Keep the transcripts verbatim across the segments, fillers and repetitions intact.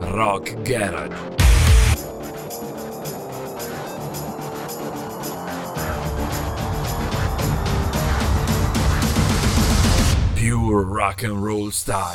Rock Garage. Pure rock and roll style.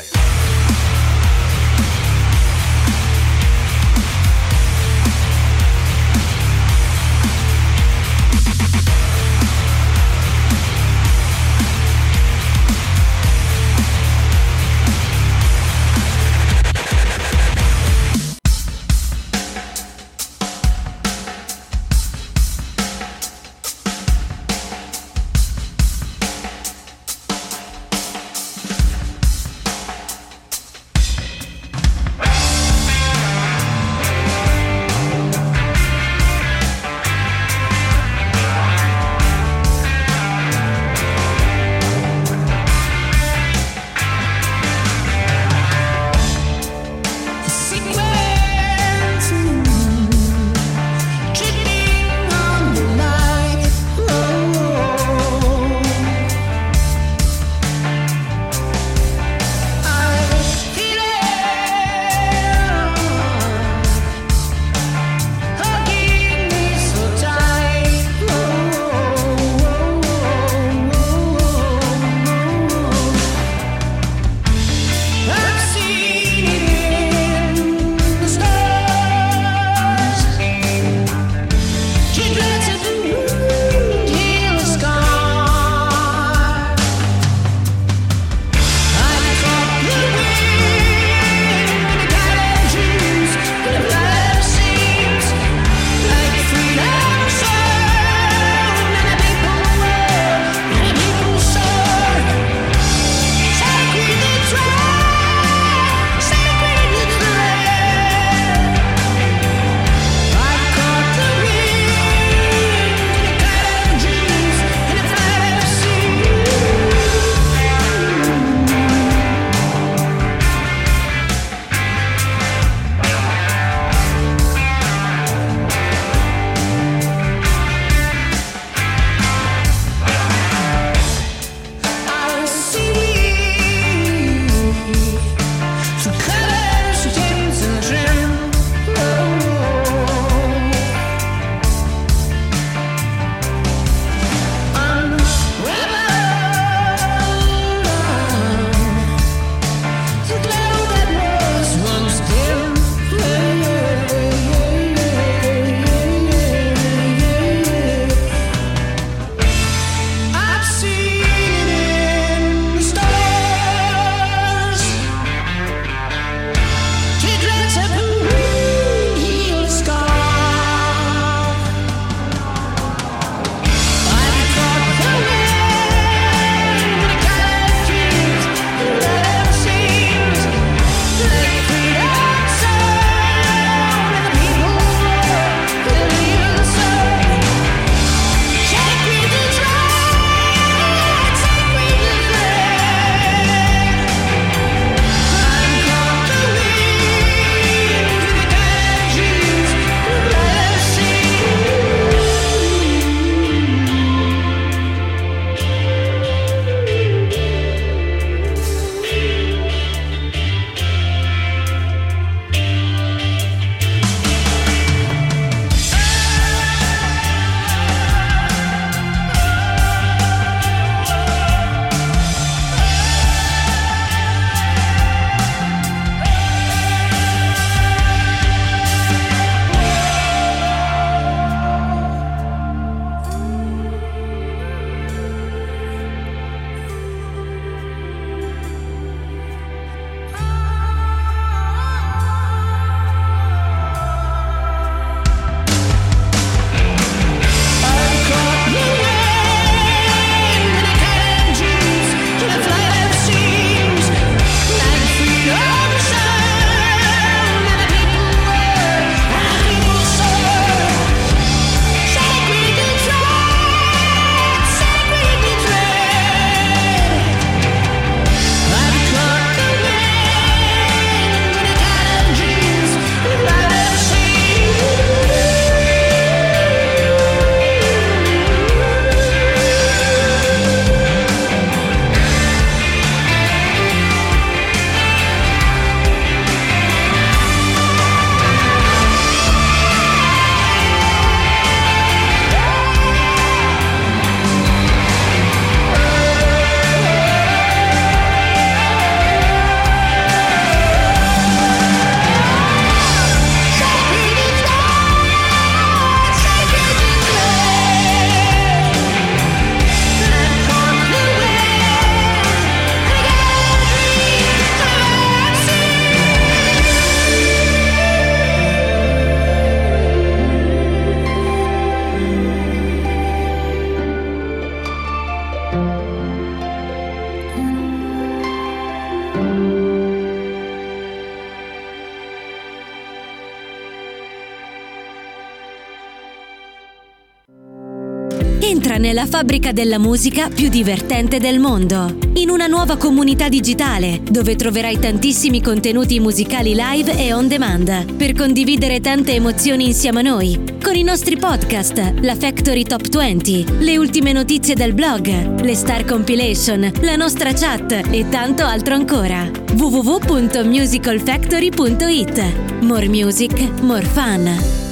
nella fabbrica della musica più divertente del mondo, in una nuova comunità digitale dove troverai tantissimi contenuti musicali live e on demand per condividere tante emozioni insieme a noi, con i nostri podcast, la Factory Top venti, le ultime notizie del blog, le Star Compilation, la nostra chat e tanto altro ancora. w w w punto musical factory punto i t. More music, more fun.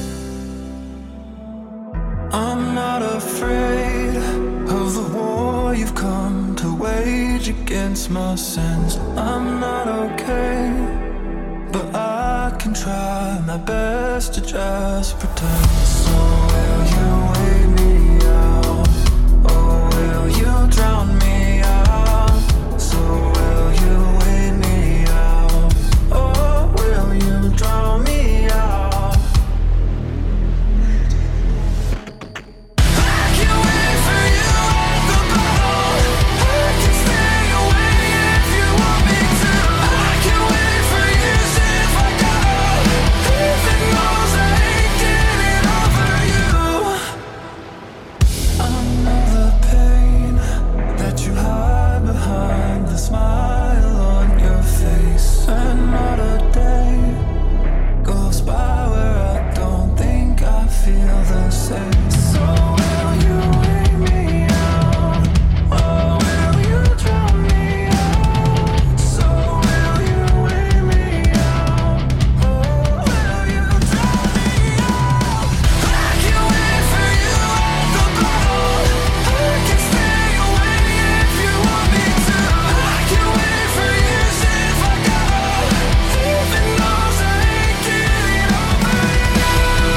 I'm not afraid of the war you've come to wage against my sins. I'm not okay, but I can try my best to just pretend. So will you wait me out, or will you drown me out? So will you wait me out, or will you drown me out? Smile on your face, and not a day goes by where I don't think I feel the same. So will you wait me out, or will you drown me out? So will you wait me out, or will you drown me out? I can wait for you at the bottle, I can stay away if you want me to. I can wait for years if I gotta, even though I ain't getting over you.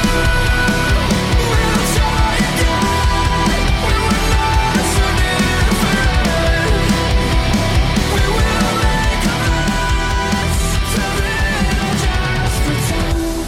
We'll try again, we were not so different. We will make amends, till then I'll just pretend.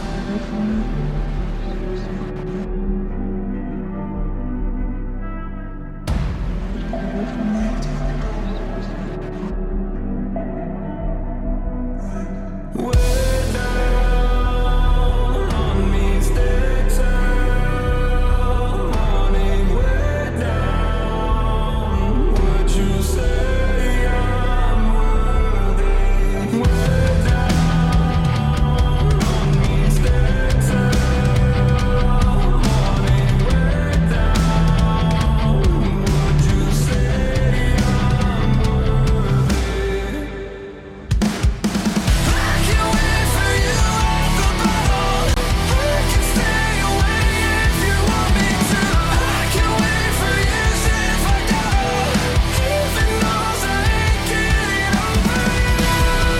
Way down on me sticks out, morning way down. Would you say I'm worthy? Way down on me sticks out, morning way down. Would you say I'm worthy? I can wait for you at the bottle, I can stay away if you want me to. I can wait for years if I gotta, even though I ain't getting over you.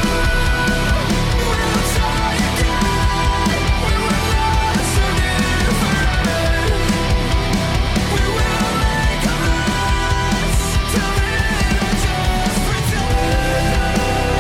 We'll try again, we were not so different. We will make amends, till then I just pretend.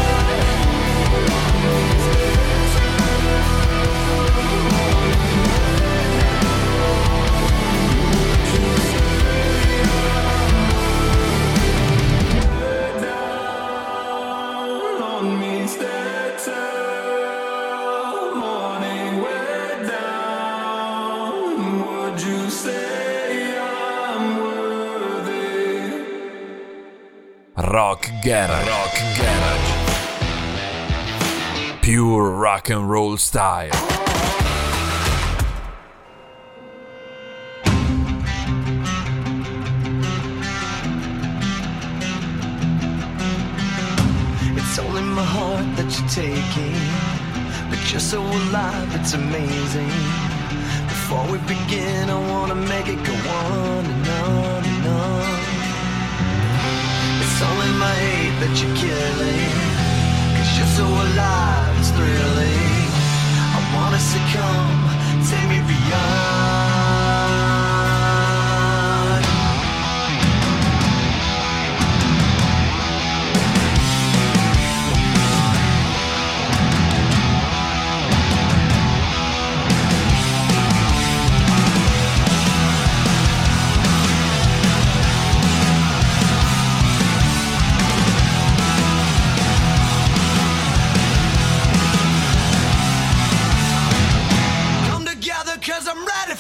Down on me sticks out, morning way down. Would you say I'm worthy? Rock Garage. Rock Garage. Pure rock and roll style. It's only my heart that you're taking, but you're so alive, it's amazing. Before we begin, I wanna make it go on and on and on. It's only my hate that you're killing, 'cause you're so alive, it's thrilling. I wanna succumb, take me beyond. Come together 'cause I'm ready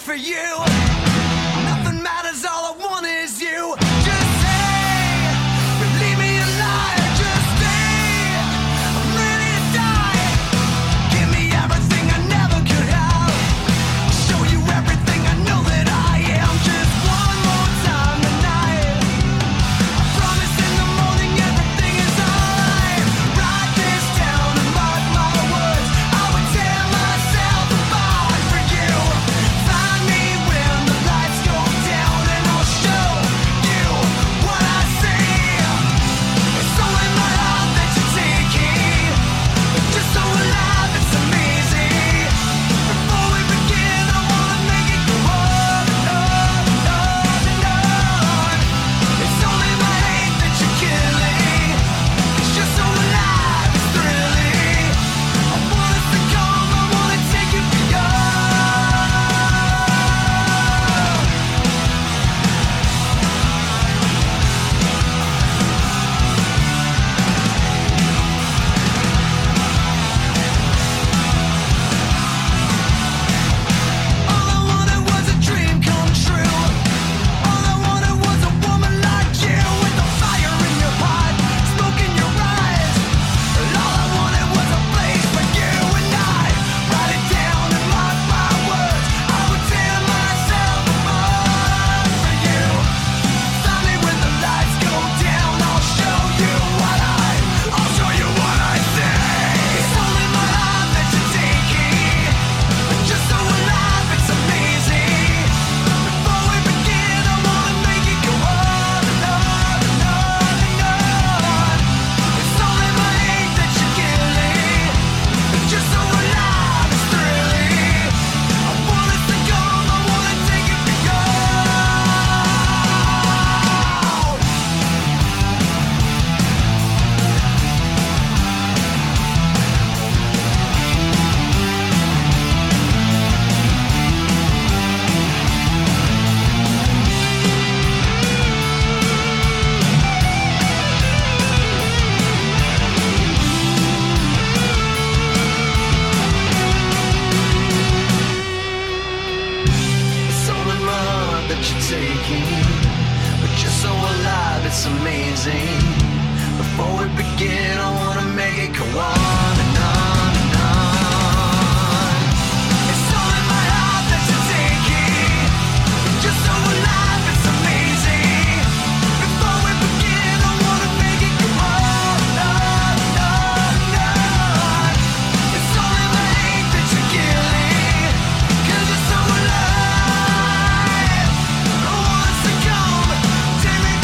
amazing. Before we begin, I wanna make it go on and on and on. It's all in my heart that you're taking. Just so alive, it's amazing. Before we begin, I wanna make it go on and on and on and on. It's all in the hate that you're killing, 'cause you're so alive. I wanna succumb, take me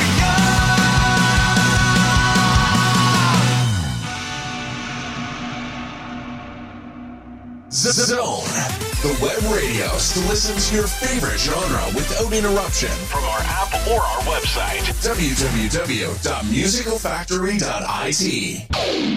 Zone, the web radio to listen to your favorite genre without interruption from our app or our website, w w w dot musical factory dot i t.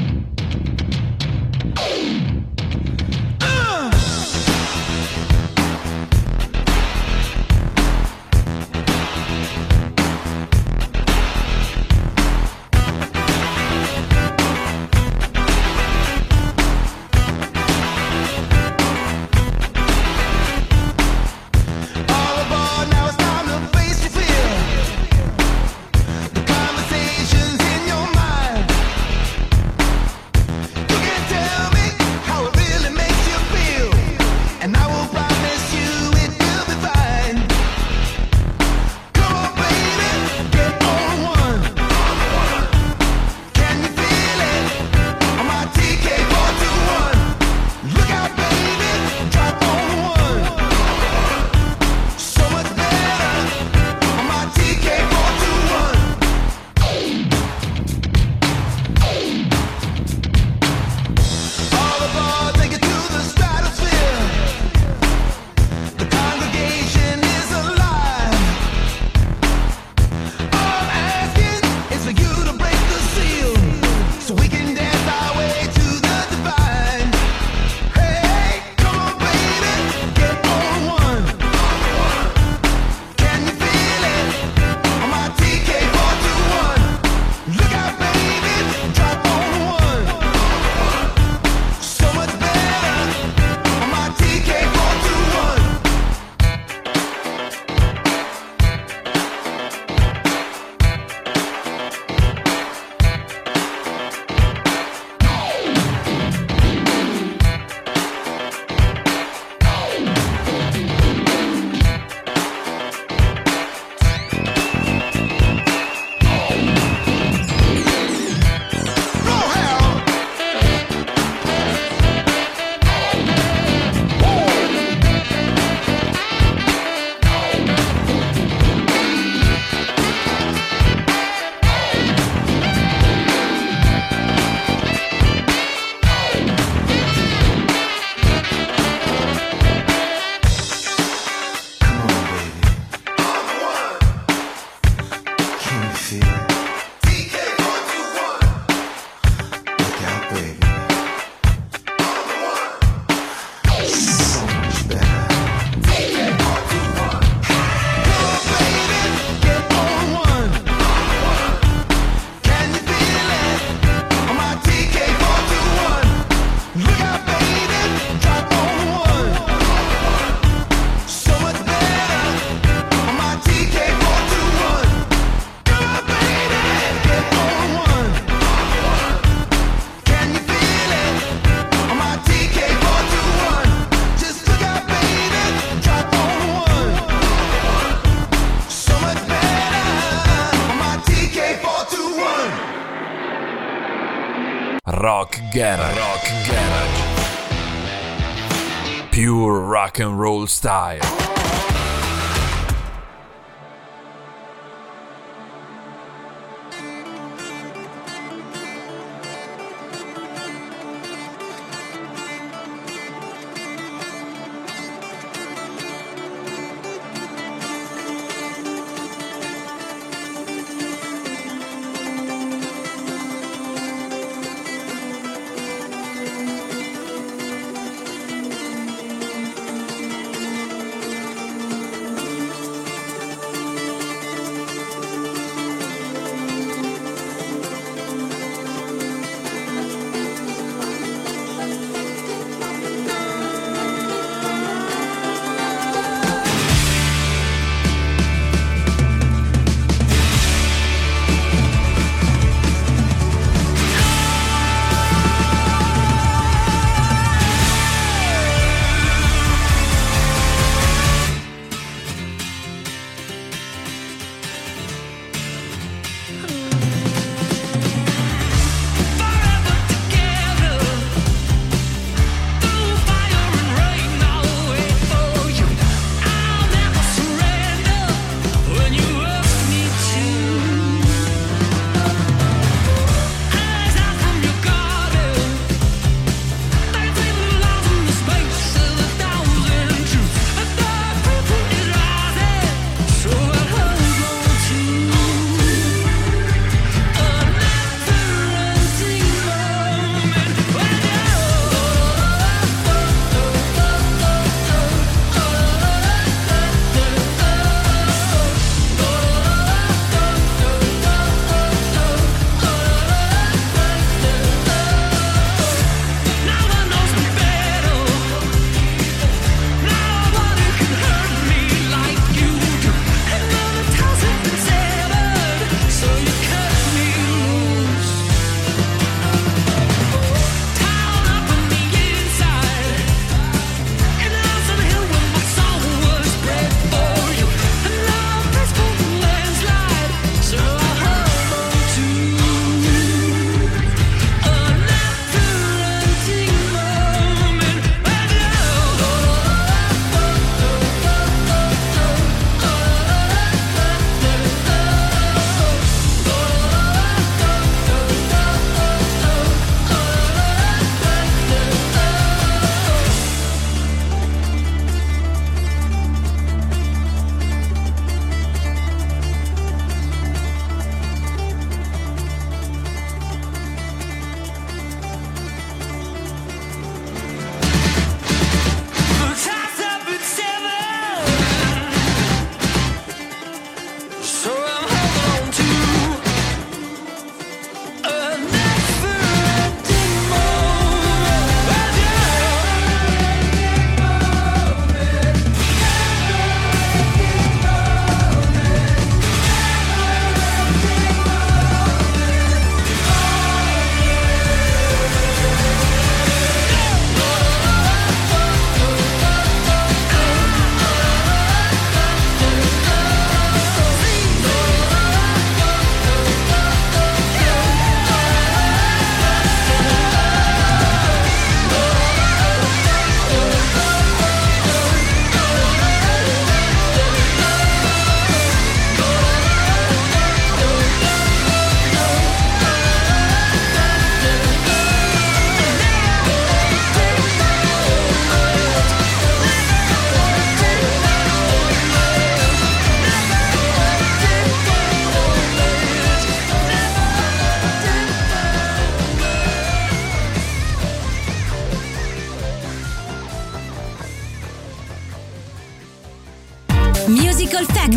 Conversations in your mind. Rock Garage. Rock Garage. Pure rock and roll style.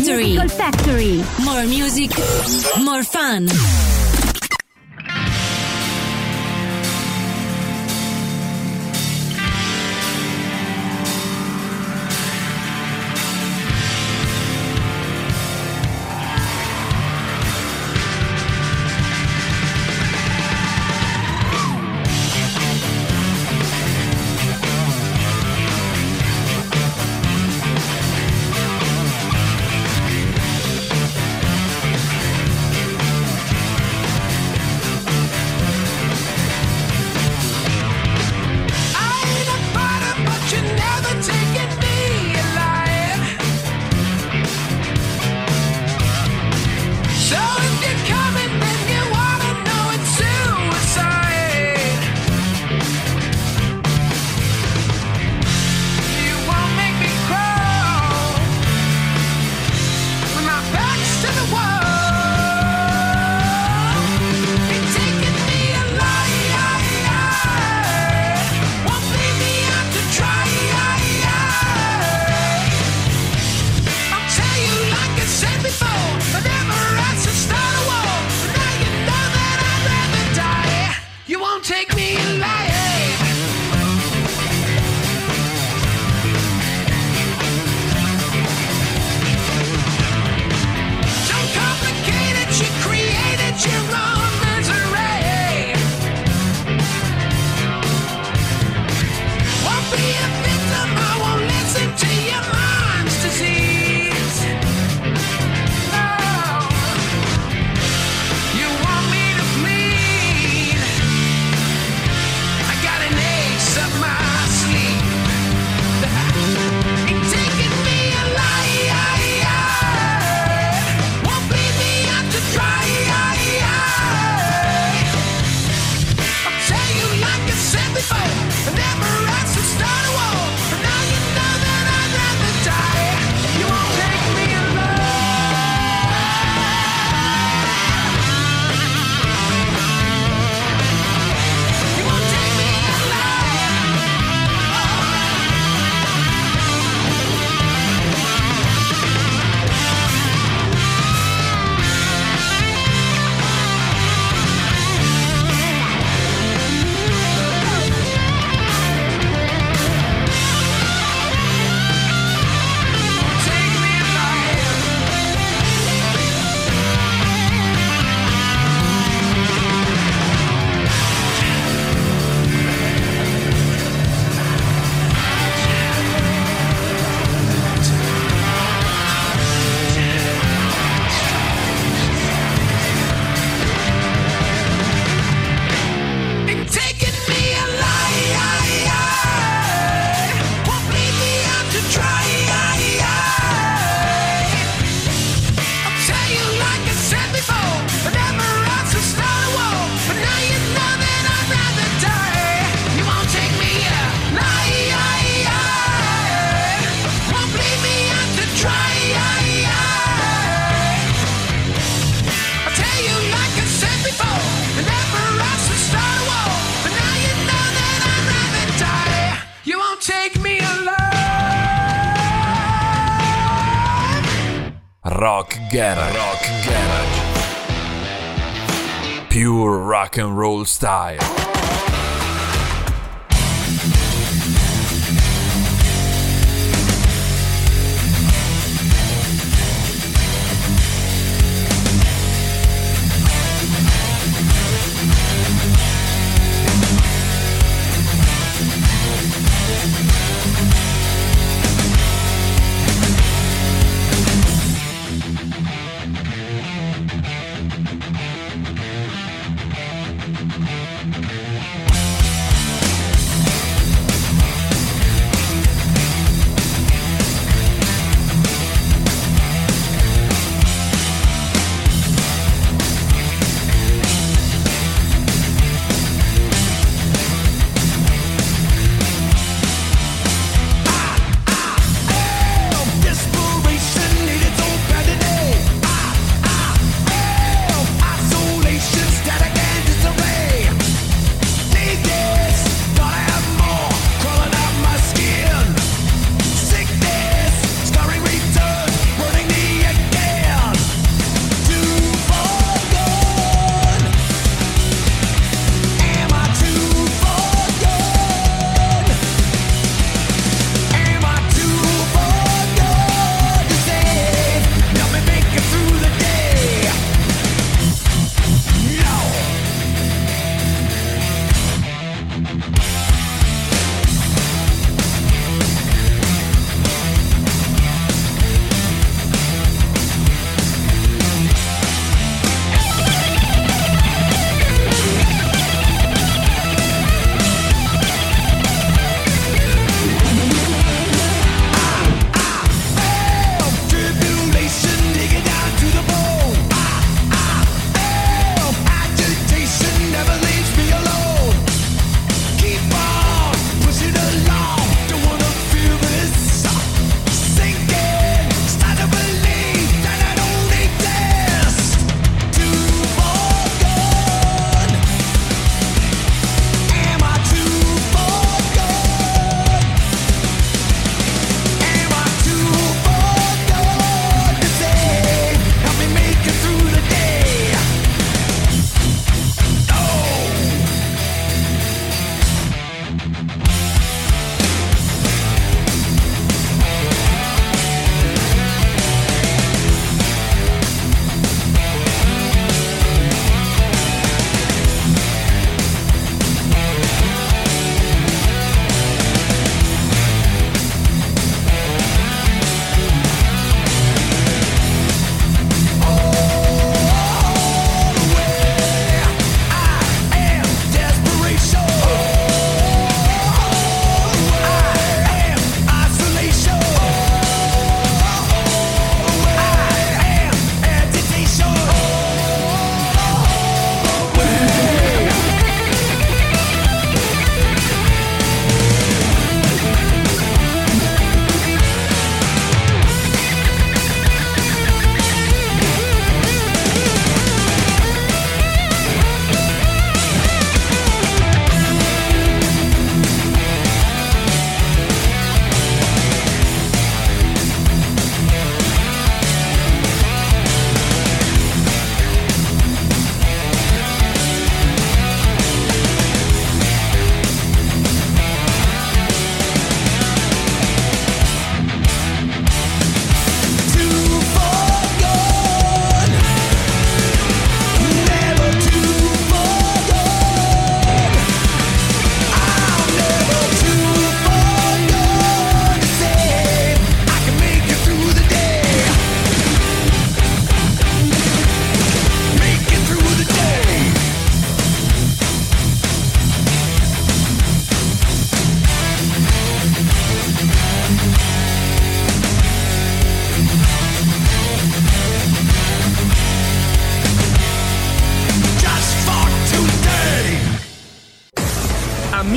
Factory. Musical Factory. More music, more fun. Rock Garage. Rock Garage. Pure rock and roll style. Thank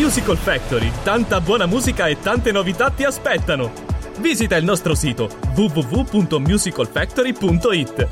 Musical Factory, tanta buona musica e tante novità ti aspettano. Visita il nostro sito w w w punto musical factory punto i t.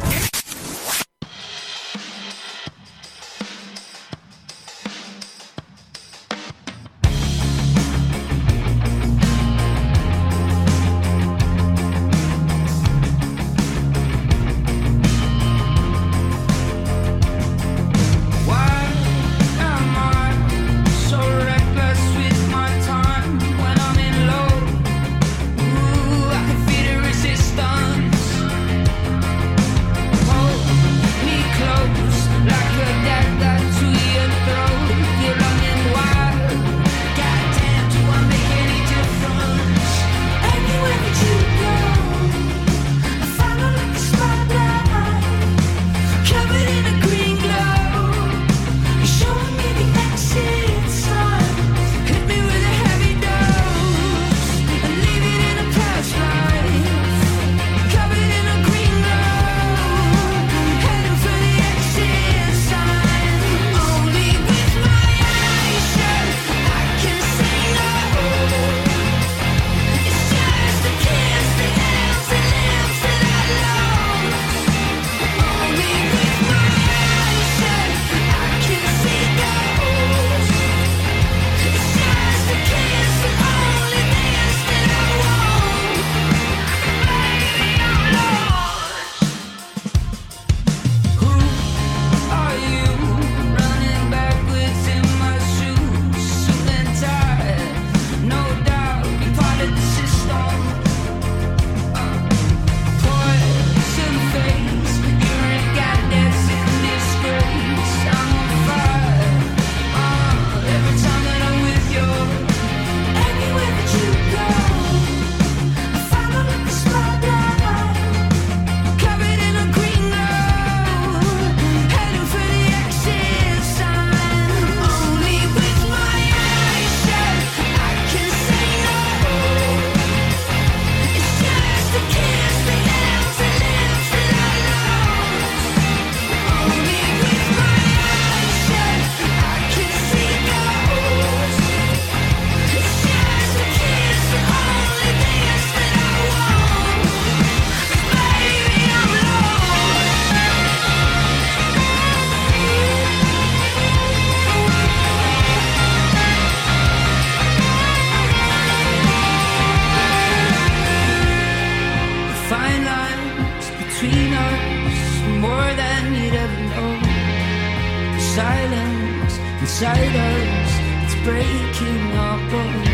inside us, it's breaking our bones.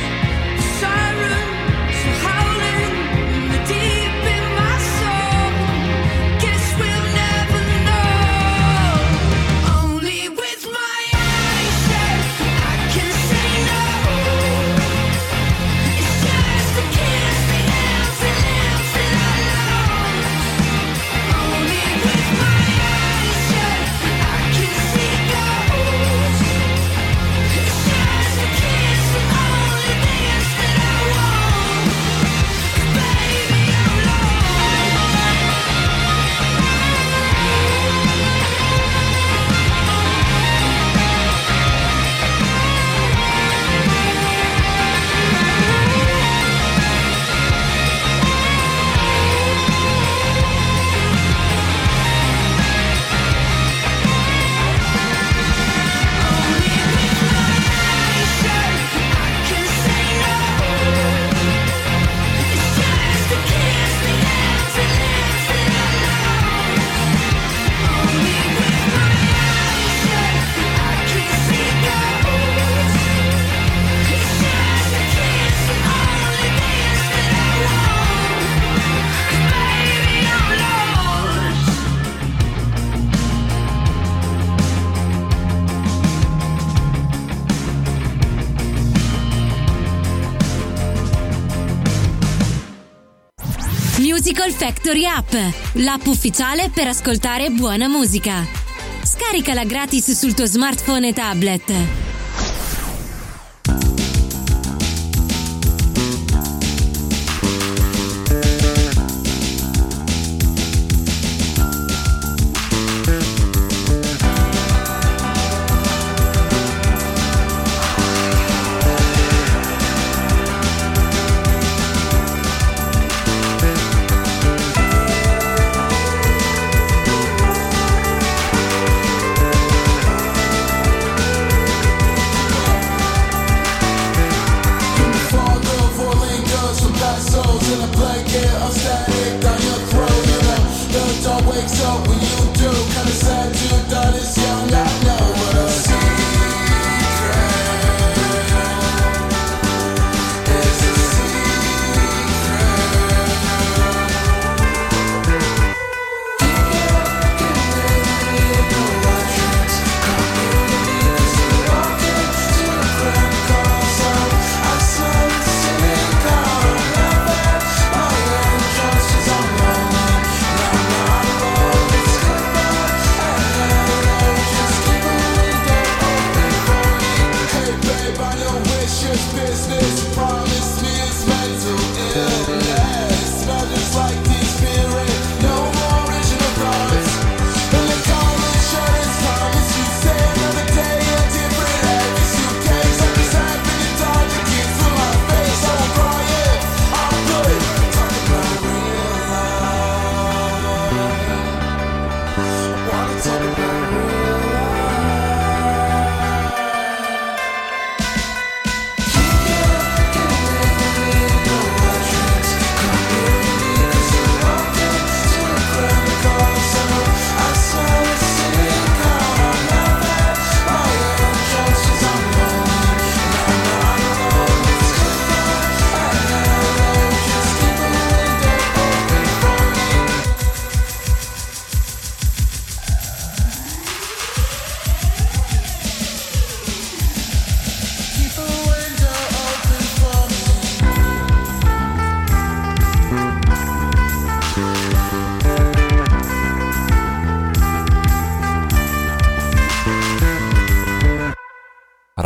Sirens are howling deep in my soul. Guess we'll never know. Only with my eyes shut I can say no. It's just a kiss, the empty lips that I lost. Only with my eyes shut I can see ghosts. It's just a kiss, the only dance that I want. Baby, I'm Musical Factory App, l'app ufficiale per ascoltare buona musica. Scaricala gratis sul tuo smartphone e tablet.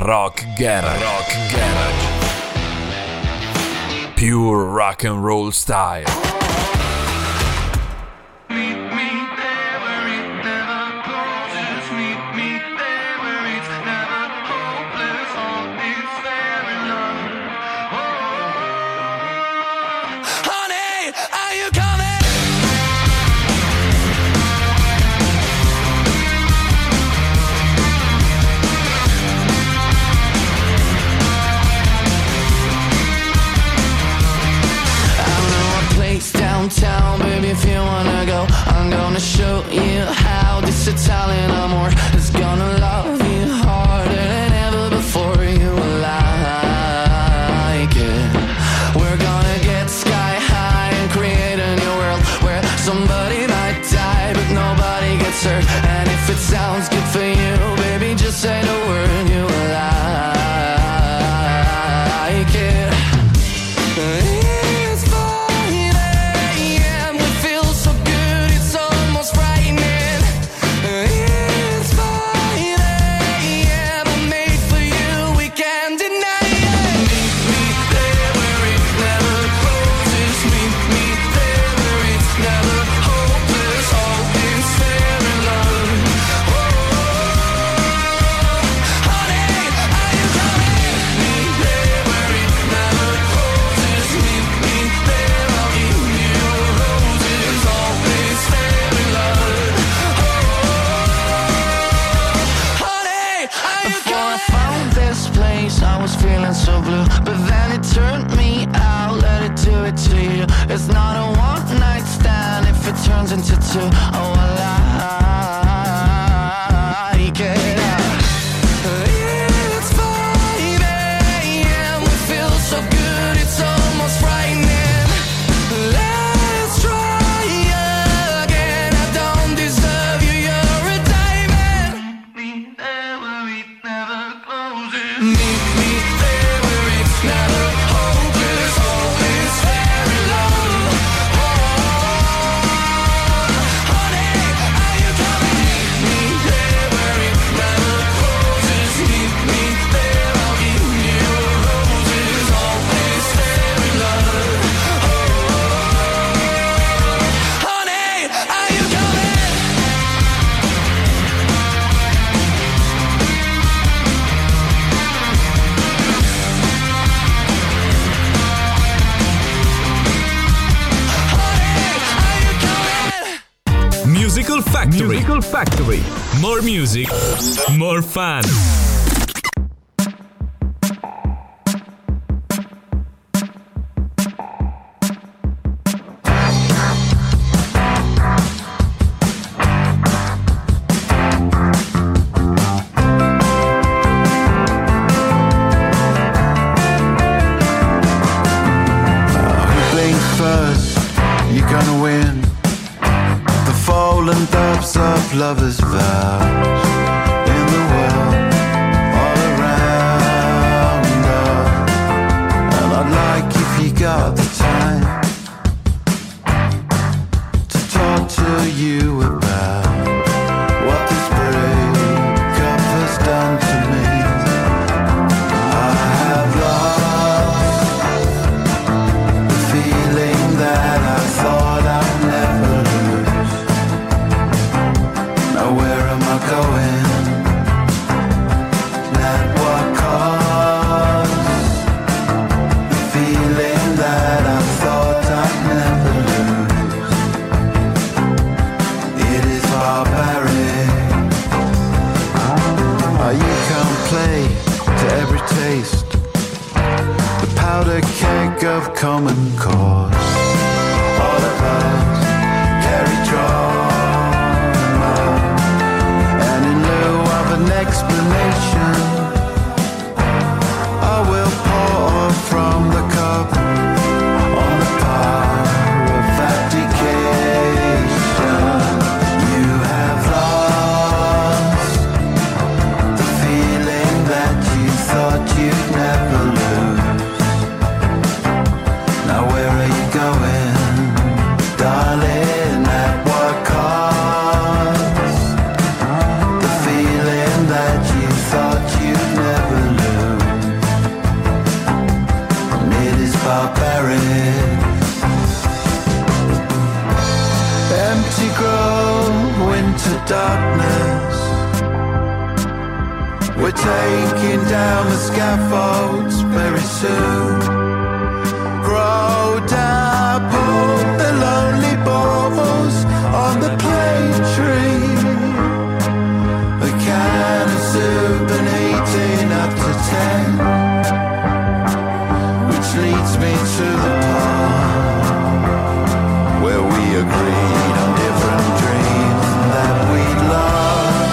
Rock Garage. Rock Garage. Pure rock and roll style. Downtown, baby, if you wanna go, I'm gonna show you how this Italian amor is gonna love you harder than ever before. You will like it. We're gonna get sky high and create a new world where somebody might die but nobody gets hurt. And if it sounds good for you, baby, just say the word. You will like it. So blue, but then it turned me out. Let it do it to you. It's not a one night stand if it turns into two. Oh, I like it. It's five a m We feel so good, it's almost frightening. Let's try again. I don't deserve you, you're a diamond. Meet me there where it never closes. Meet me there where it's never hopeless, always fair in love. Oh, honey, are you coming? Meet me there where it never closes. Meet me there, I'll give you roses, always fair in love. Oh, honey, are you coming? Musical Factory. Musical Factory. More music, more fun. Who blinks first? You're gonna win. The fallen doves of lovers' vows in the world all around us. And I'd like, if you got the time, to talk to you about what this breakup has done to me. I have lost the feeling that I thought I'd never lose. Now where am I going? Not what caused the feeling that I thought I'd never lose. It is barbaric. Oh, you can't play to every taste. The powder keg of common cause. All of us carry trauma, and in lieu of an explanation, I will pour from the cup on the power of abdication. You have lost the feeling that you thought you'd never lose. Now where are you going, darling? At what cost? The feeling that you thought you We're taking down the scaffolds very soon. Grow down, put the lonely balls on the plane tree. A can of soup and eighteen up to ten, which leads me to the part where we agreed on different dreams that we'd love.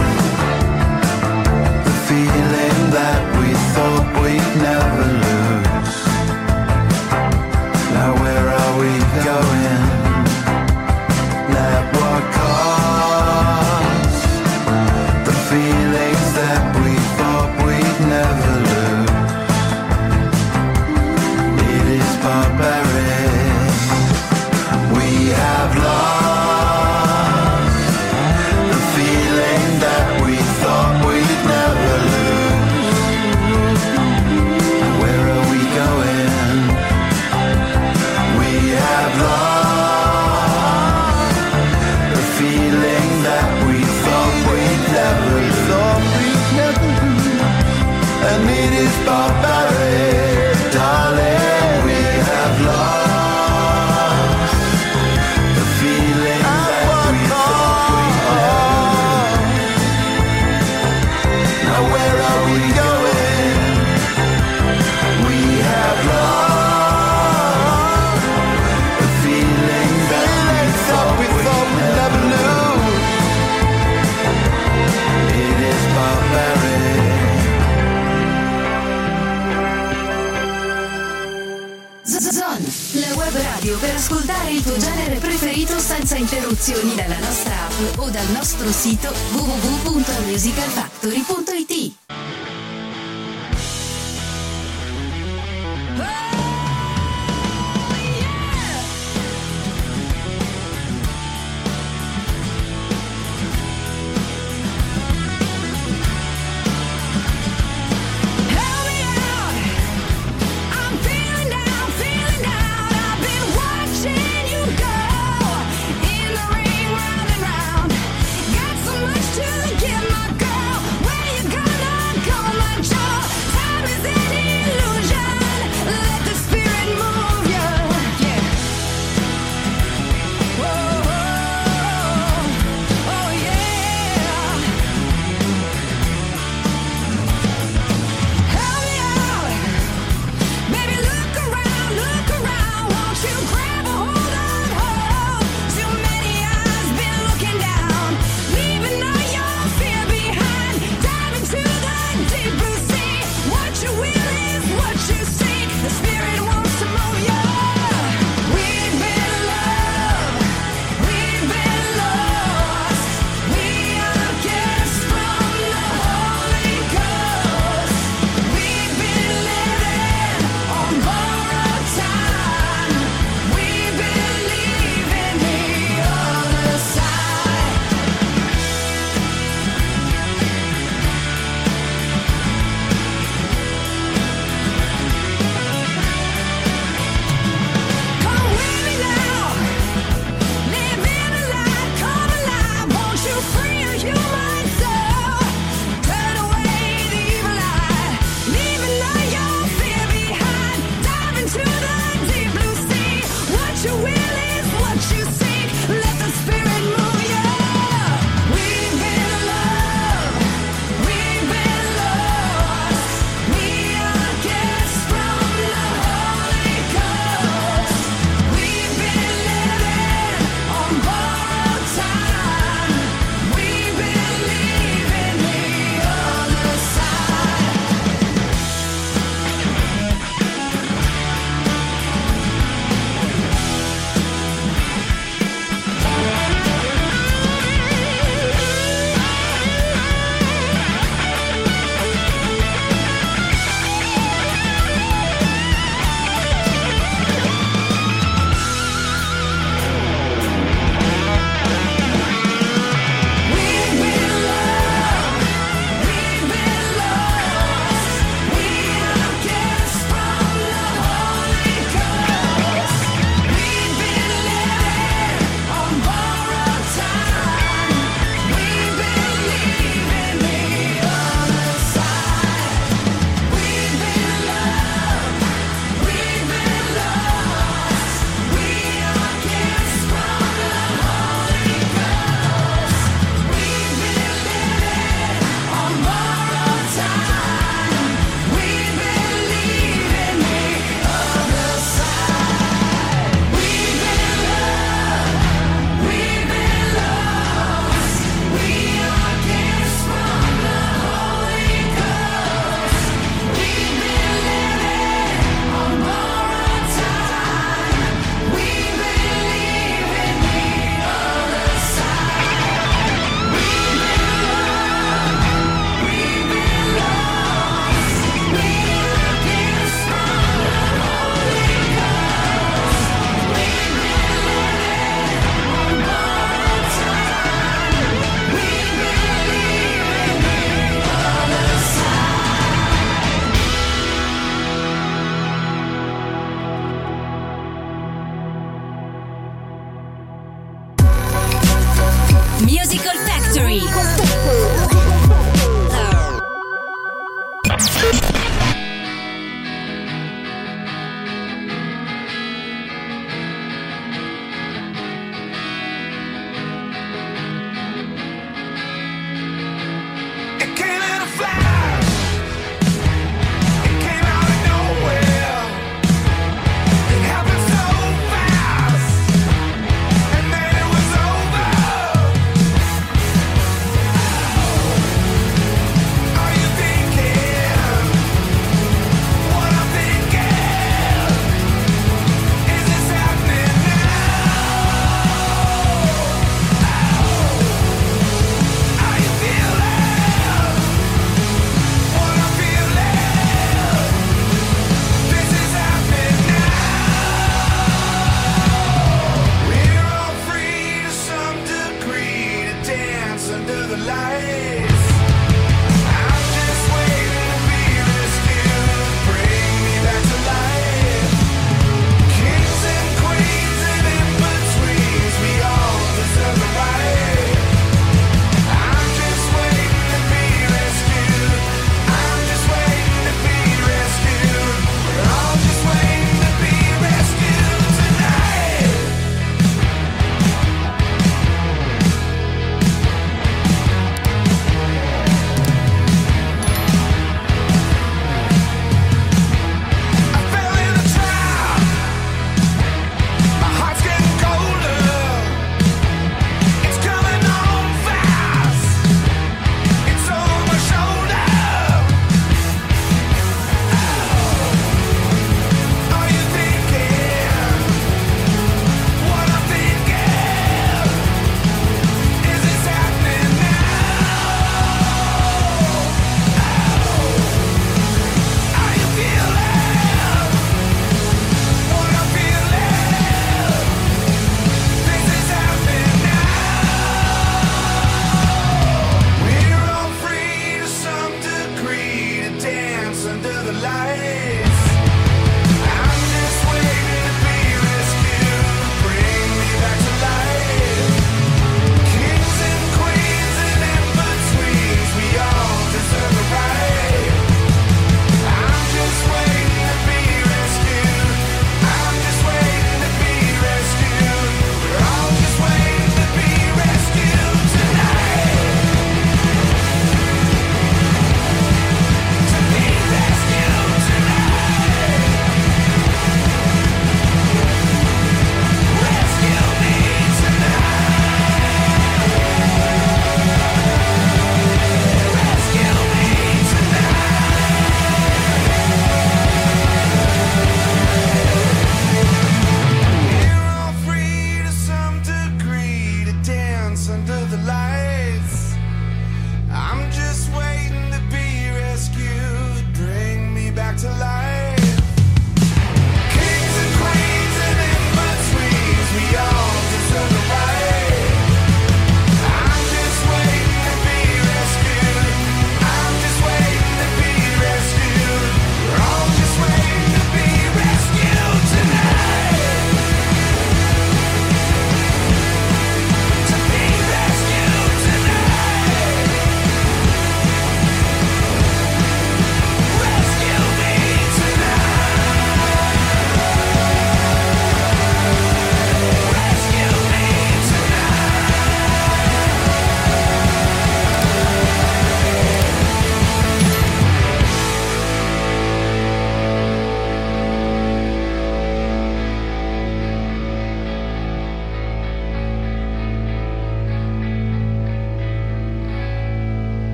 The feeling that we thought we'd never lose. Now where are we going? At what cost? The feelings that we thought we'd never lose. It is barbaric. We have lost the feeling that we thought we'd never lose. Where are we going? We have lost the feeling that we thought we'd never thought we'd never lose. And it is barbaric, darling. We have lost the feeling that we thought we'd never lose. Now where are we going? We have lost the feeling that we thought we'd never lose. It is barbaric. Zon, la web radio per ascoltare il tuo genere preferito senza interruzioni dalla nostra app o dal nostro sito w w w punto musical factory punto i t. Got so much to give my girl. Where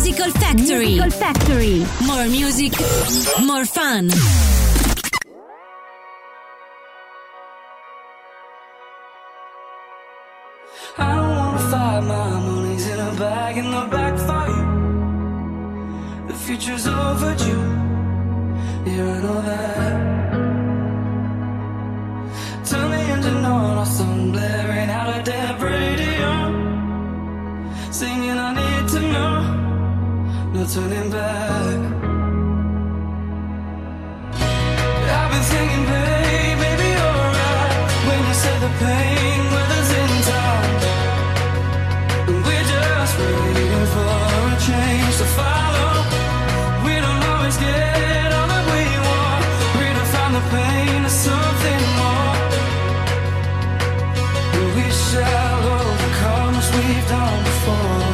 Musical Factory. Musical Factory. More music, more fun. I don't wanna fight, my money's in a bag in the back for you. The future's overdue, yeah, I know that. Turn the engine on, or some blaring out a dead radio, singing I need to know, no turning back. I've been thinking, babe, maybe you're right when you said the pain weather's in time. We're just waiting for a change to follow. We don't always get all that we want. Redefine the pain to something more. We shall overcome as we've done before.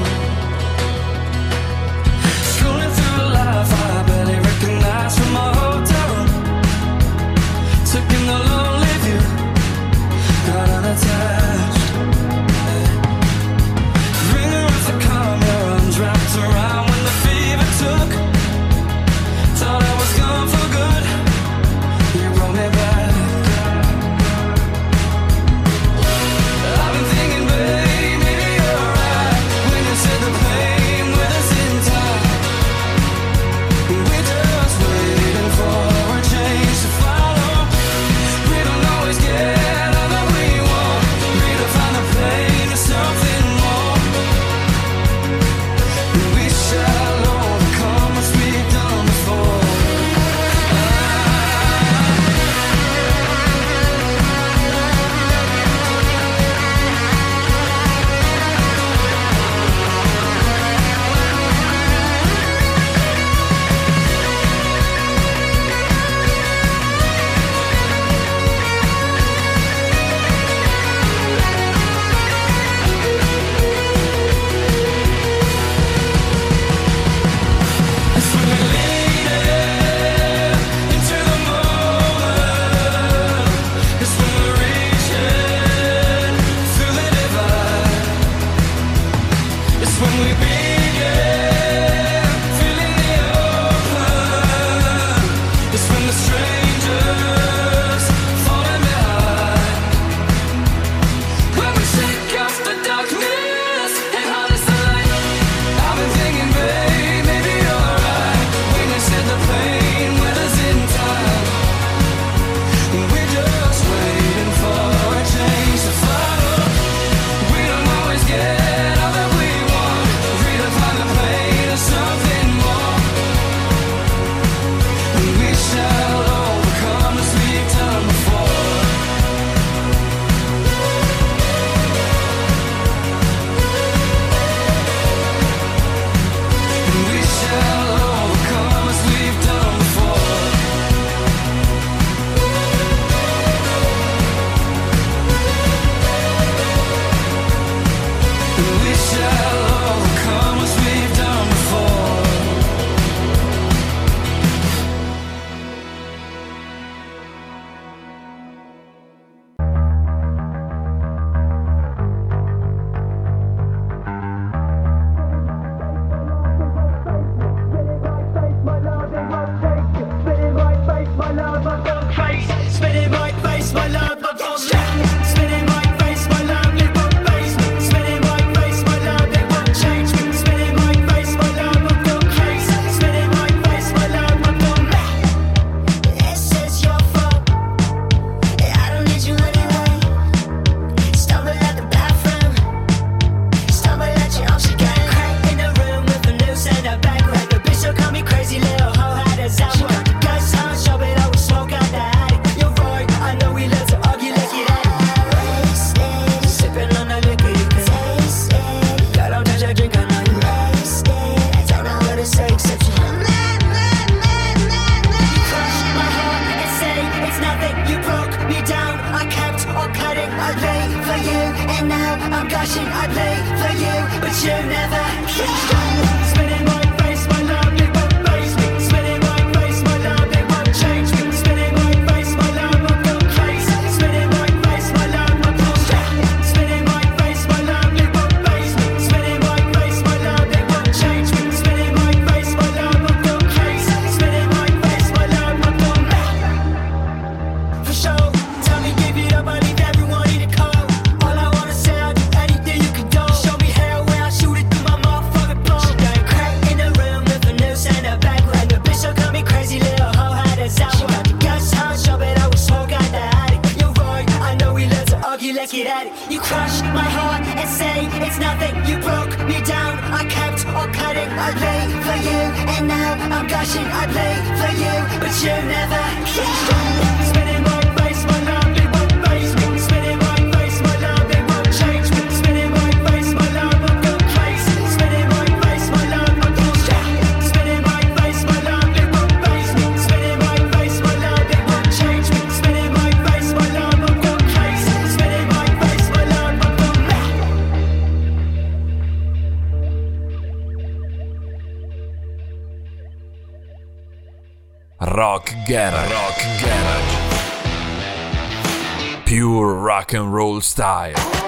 Scrolling through life, I barely recognize from my hotel room. Took in the lonely view, got unattached. Ringer of the calm, your arms wrapped around when the fever took. Thought I was gone for good, you brought me back. I've been thinking, babe, maybe you're right when you said the pain with us in time. We're just waiting for a change to follow. We don't always get all that we want. Redefine the pain to something more. We shall overcome as we've done before. It's when we lean in into the moment. It's when we're reaching through the divide. It's when we begin feeling the open. It's when the strangers falling behind. When we shake off the darkness and harness the light. I've been thinking, babe, maybe you're right when you said the pain with us in time. We're just waiting for a change to follow. We don't always get all that we want. Redefine the pain to something more. We shall overcome as we've done before. We shall overcome as we've done before. We shall overcome as we've done before. Spinning my face, my love, my won't change. Spinning my face, my love, it won't faze me. Spinning my face, my love, it won't change me. Spinning my face, my love, I'm gone crazy. Spinning my face, my love, I'm gone mad. This is your fault. I don't need you anyway. Stumble at the bathroom. Stumble at your arms again. Crack in the room with a noose and a bag. Like a bitch, so call me crazy little hoe. How does that work? Guys, I'm sure it always smoke out the attic. You're right, I know we love to argue, let's get at it. Wasted, Sipping on the liquor, you can tasted, girl, don't touch your drink, I know you wasted. I don't know what to say except you. Mad, mad, mad, mad, mad. You crushed my heart and say it's nothing. You broke me down, I kept on cutting. I lay for you, and now I'm gushing. I play for you, but you never spinning my face, my love, it won't faze me. Spinning my face, my love, it won't change me. Spinning my face, my love, I'm gone crazy. Spinning my face, my love, I'm gone crazy. Spinning my face, my love, it won't faze me. Spinning my face, my love, it won't change me. Spinning you look at it. You crush my heart and say it's nothing. You broke me down, I kept on cutting. I play for you, and now I'm gushing. I play for you, but you never yeah. Spinning my face, my love, it won't face me. Spinning my face, my love, it won't change me. Spinning my face, my love, I've gone crazy. Spinning my face, my love, I've gone straight. Spinning my face, my love, it won't face me. Spinning my face, my love, it won't change me. Spinning my face, my love, I've gone crazy. Spinning my face, my love, I've gone mad. Rock Garage. Rock Garage. Pure rock and roll style.